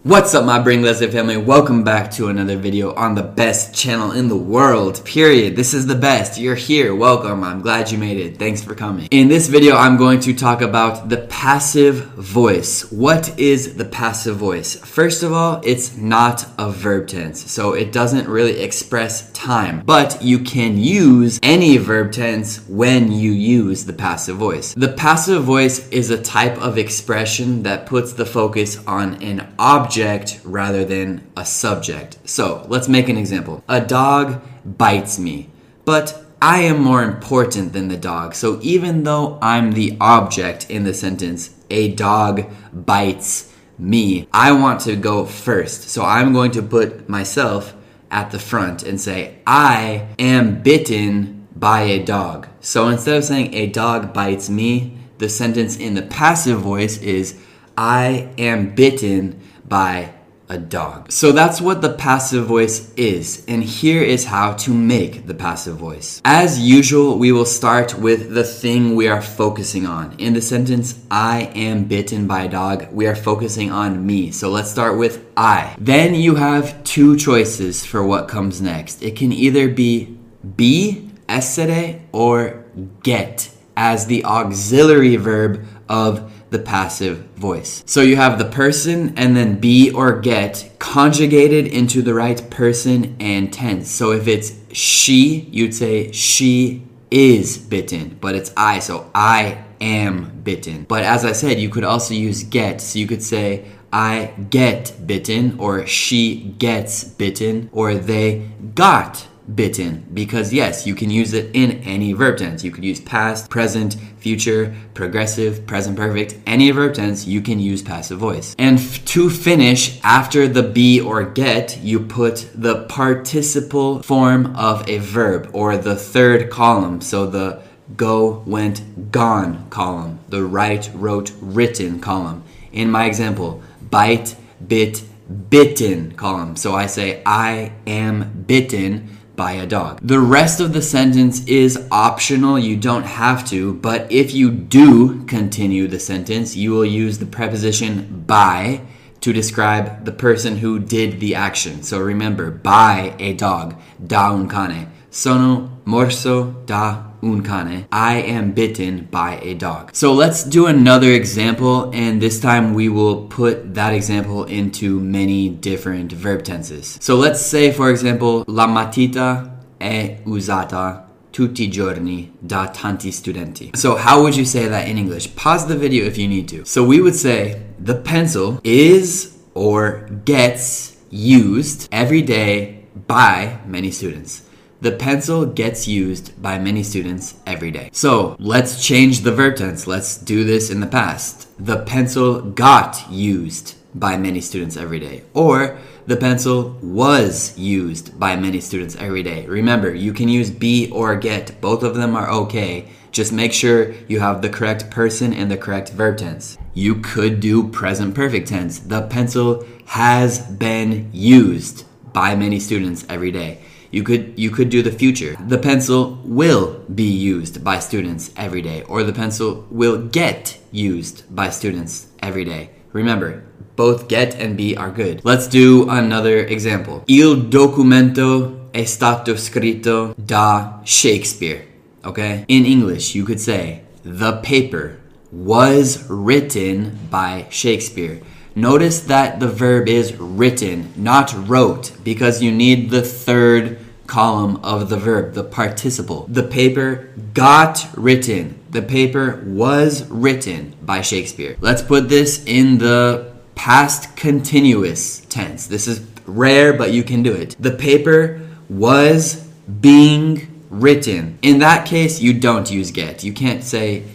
What's up, my Bring Leslie family? Welcome back to another video on the best channel in the world, period. This is the best. You're here. Welcome. I'm glad you made it. Thanks for coming. In this video, I'm going to talk about the passive voice. What is the passive voice? First of all, it's not a verb tense, so it doesn't really express time, but you can use any verb tense when you use the passive voice. The passive voice is a type of expression that puts the focus on an object rather than a subject. So let's make an example. A dog bites me, but I am more important than the dog. So even though I'm the object in the sentence, a dog bites me, I want to go first. So I'm going to put myself at the front and say, I am bitten by a dog. So instead of saying a dog bites me, the sentence in the passive voice is I am bitten by a dog. So that's what the passive voice is, and here is how to make the passive voice. As usual, we will start with the thing we are focusing on. In the sentence, I am bitten by a dog, we are focusing on me. So let's start with I. Then you have two choices for what comes next. It can either be essere or get as the auxiliary verb of the passive voice. So you have the person and then be or get conjugated into the right person and tense. So if it's she, you'd say she is bitten, but it's I, so I am bitten. But as I said, you could also use get. So you could say I get bitten, or she gets bitten, or they got bitten, because yes, you can use it in any verb tense. You could use past, present, future, progressive, present perfect, any verb tense you can use passive voice. And to finish, after the be or get, you put the participle form of a verb, or the third column, so the go, went, gone column, the write, wrote, written column. In my example, bite, bit, bitten column. So I say I am bitten by a dog. The rest of the sentence is optional. You don't have to, but if you do continue the sentence, you will use the preposition by to describe the person who did the action. So remember, by a dog, da un cane. Sono morso da un cane. I am bitten by a dog. So let's do another example, and this time we will put that example into many different verb tenses. So let's say, for example, la matita è usata tutti i giorni da tanti studenti. So how would you say that in English? Pause the video if you need to. So we would say the pencil is or gets used every day by many students. The pencil gets used by many students every day. So let's change the verb tense. Let's do this in the past. The pencil got used by many students every day. Or the pencil was used by many students every day. Remember, you can use be or get. Both of them are okay. Just make sure you have the correct person and the correct verb tense. You could do present perfect tense. The pencil has been used by many students every day. You could do the future. The pencil will be used by students every day, or the pencil will get used by students every day. Remember, both get and be are good. Let's do another example. Il documento è stato scritto da Shakespeare. Okay? In English, you could say the paper was written by Shakespeare. Notice that the verb is written, not wrote, because you need the third column of the verb, the participle. The paper got written. The paper was written by Shakespeare. Let's put this in the past continuous tense. This is rare, but you can do it. The paper was being written. In that case, you don't use get. You can't say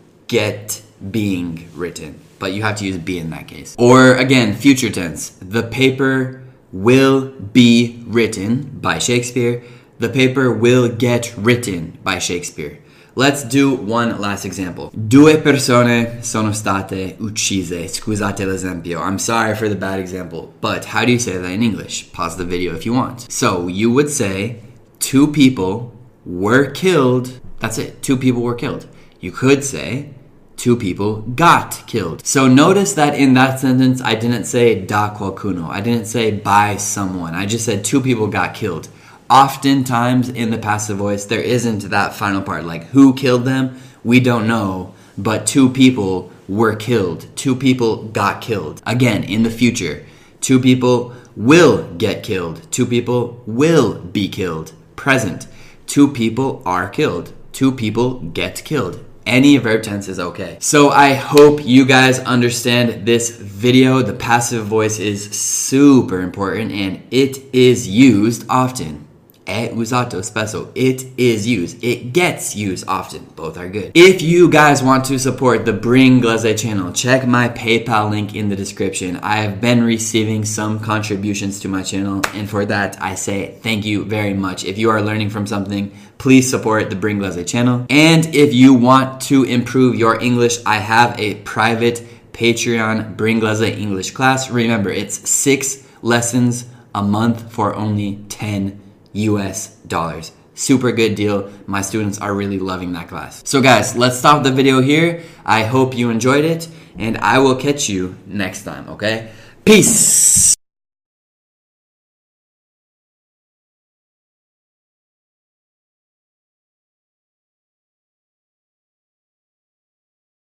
get being written, but you have to use be in that case. Or again, future tense. The paper will be written by Shakespeare. The paper will get written by Shakespeare. Let's do one last example. Due persone sono state uccise. Scusate l'esempio. I'm sorry for the bad example, but how do you say that in English? Pause the video if you want. So you would say two people were killed. That's it. Two people were killed. You could say 2 people got killed. So notice that in that sentence, I didn't say da qualcuno. I didn't say by someone. I just said 2 people got killed. Oftentimes in the passive voice, there isn't that final part, like who killed them? We don't know, but 2 people were killed. 2 people got killed. Again, in the future, 2 people will get killed. 2 people will be killed. Present, 2 people are killed. 2 people get killed. Any verb tense is okay. So I hope you guys understand this video. The passive voice is super important and it is used often. È usato spesso. It is used. It gets used often. Both are good. If you guys want to support the Bringlese channel, check my PayPal link in the description. I have been receiving some contributions to my channel, and for that, I say thank you very much. If you are learning from something, please support the Bringlese channel. And if you want to improve your English, I have a private Patreon Bringlese English class. Remember, it's 6 lessons a month for only $10 US. Super good deal. My students are really loving that class. So guys, let's stop the video here. I hope you enjoyed it, and I will catch you next time, okay? Peace!